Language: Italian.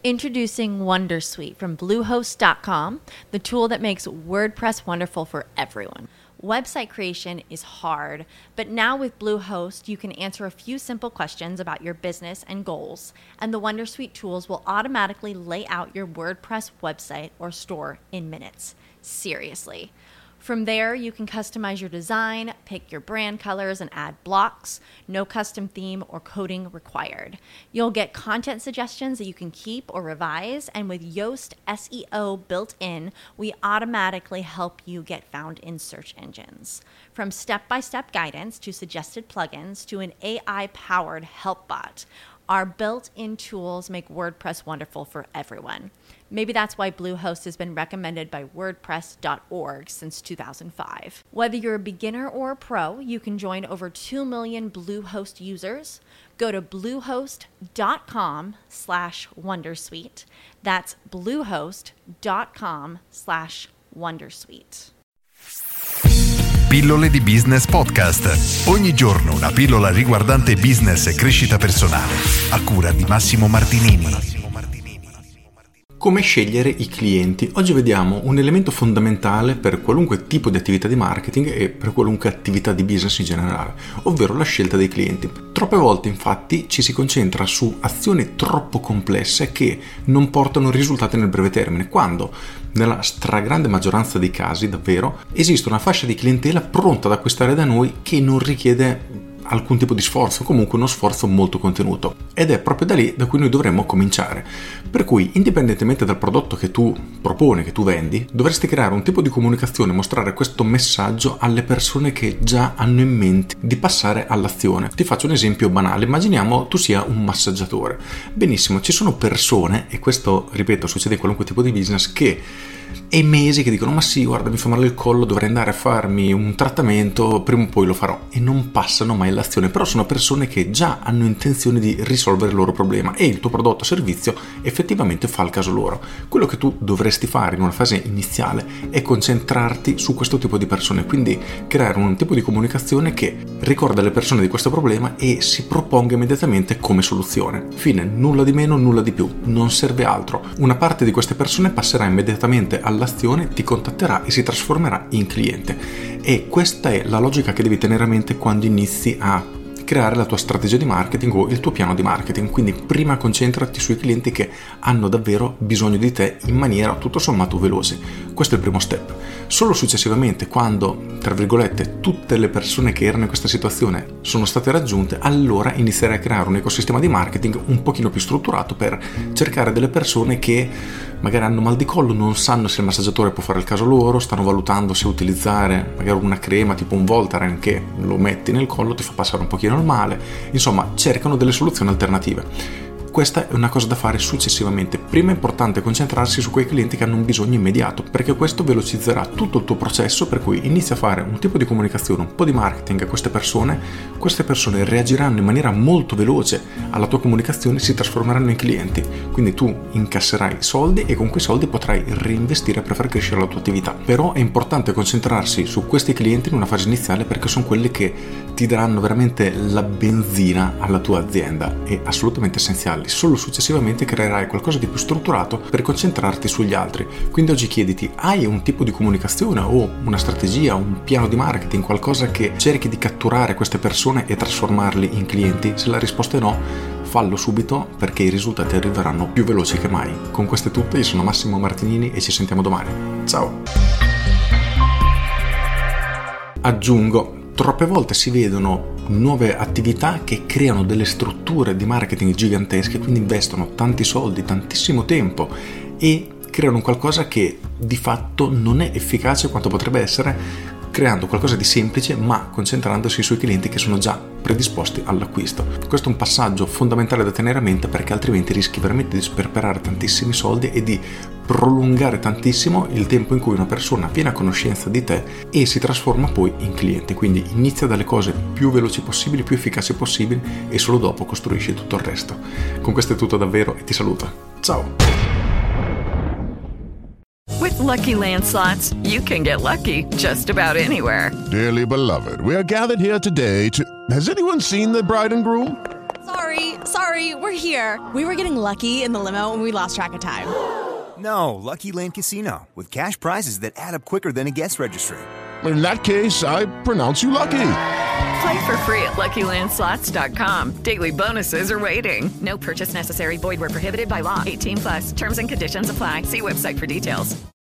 Introducing Wondersuite from Bluehost.com, the tool that makes WordPress wonderful for everyone. Website creation is hard, but now with Bluehost, you can answer a few simple questions about your business and goals, and the Wondersuite tools will automatically lay out your WordPress website or store in minutes. Seriously. From there, you can customize your design, pick your brand colors, and add blocks. No custom theme or coding required. You'll get content suggestions that you can keep or revise, and with Yoast SEO built in, we automatically help you get found in search engines. From step-by-step guidance to suggested plugins to an AI-powered help bot, our built-in tools make WordPress wonderful for everyone. Maybe that's why Bluehost has been recommended by WordPress.org since 2005. Whether you're a beginner or a pro, you can join over 2 million Bluehost users. Go to bluehost.com/wondersuite. That's bluehost.com/wondersuite. Pillole di Business Podcast. Ogni giorno una pillola riguardante business e crescita personale. A cura di Massimo Martinini. Come scegliere i clienti? Oggi vediamo un elemento fondamentale per qualunque tipo di attività di marketing e per qualunque attività di business in generale, ovvero la scelta dei clienti. Troppe volte infatti ci si concentra su azioni troppo complesse che non portano risultati nel breve termine, quando nella stragrande maggioranza dei casi davvero esiste una fascia di clientela pronta ad acquistare da noi che non richiede alcun tipo di sforzo, comunque uno sforzo molto contenuto, ed è proprio da lì da cui noi dovremmo cominciare. Per cui, indipendentemente dal prodotto che tu proponi, che tu vendi, dovresti creare un tipo di comunicazione, mostrare questo messaggio alle persone che già hanno in mente di passare all'azione. Ti faccio un esempio banale: immaginiamo tu sia un massaggiatore. Benissimo, ci sono persone, e questo ripeto succede in qualunque tipo di business, che e mesi che dicono: ma sì, guarda, mi fa male il collo, dovrei andare a farmi un trattamento, prima o poi lo farò, e non passano mai all'azione. Però sono persone che già hanno intenzione di risolvere il loro problema e il tuo prodotto o servizio effettivamente fa il caso loro. Quello che tu dovresti fare in una fase iniziale è concentrarti su questo tipo di persone, quindi creare un tipo di comunicazione che ricorda alle persone di questo problema e si proponga immediatamente come soluzione. Fine, nulla di meno, nulla di più, non serve altro. Una parte di queste persone passerà immediatamente all'azione, ti contatterà e si trasformerà in cliente, e questa è la logica che devi tenere a mente quando inizi a creare la tua strategia di marketing o il tuo piano di marketing. Quindi prima concentrati sui clienti che hanno davvero bisogno di te in maniera tutto sommato veloce. Questo è il primo step. Solo successivamente, quando tra virgolette tutte le persone che erano in questa situazione sono state raggiunte, allora inizierai a creare un ecosistema di marketing un pochino più strutturato per cercare delle persone che magari hanno mal di collo, non sanno se il massaggiatore può fare il caso loro, stanno valutando se utilizzare magari una crema tipo un Voltaren che lo metti nel collo, ti fa passare un pochino il male, insomma cercano delle soluzioni alternative. Questa è una cosa da fare successivamente. Prima è importante concentrarsi su quei clienti che hanno un bisogno immediato, perché questo velocizzerà tutto il tuo processo, per cui inizi a fare un tipo di comunicazione, un po' di marketing a queste persone reagiranno in maniera molto veloce alla tua comunicazione e si trasformeranno in clienti, quindi tu incasserai soldi e con quei soldi potrai reinvestire per far crescere la tua attività. Però è importante concentrarsi su questi clienti in una fase iniziale, perché sono quelli che ti daranno veramente la benzina alla tua azienda, è assolutamente essenziale. Solo successivamente creerai qualcosa di più strutturato per concentrarti sugli altri. Quindi oggi chiediti: hai un tipo di comunicazione o una strategia, un piano di marketing, qualcosa che cerchi di catturare queste persone e trasformarli in clienti? Se la risposta è no, fallo subito, perché i risultati arriveranno più veloci che mai. Con questo è tutto, io sono Massimo Martinini e ci sentiamo domani. Ciao! Aggiungo: troppe volte si vedono nuove attività che creano delle strutture di marketing gigantesche, quindi investono tanti soldi, tantissimo tempo e creano qualcosa che di fatto non è efficace quanto potrebbe essere, creando qualcosa di semplice ma concentrandosi sui clienti che sono già predisposti all'acquisto. Questo è un passaggio fondamentale da tenere a mente, perché altrimenti rischi veramente di sperperare tantissimi soldi e di prolungare tantissimo il tempo in cui una persona viene a conoscenza di te e si trasforma poi in cliente. Quindi inizia dalle cose più veloci possibili, più efficaci possibili, e solo dopo costruisci tutto il resto. Con questo è tutto davvero e ti saluto. Ciao! With Lucky Land Slots, you can get lucky just about anywhere. Dearly beloved, we are gathered here today to... Has anyone seen the bride and groom? Sorry, we're here. We were getting lucky in the limo and we lost track of time. No, Lucky Land Casino, with cash prizes that add up quicker than a guest registry. In that case, I pronounce you lucky. Play for free at LuckyLandSlots.com. Daily bonuses are waiting. No purchase necessary. Void where prohibited by law. 18+. Terms and conditions apply. See website for details.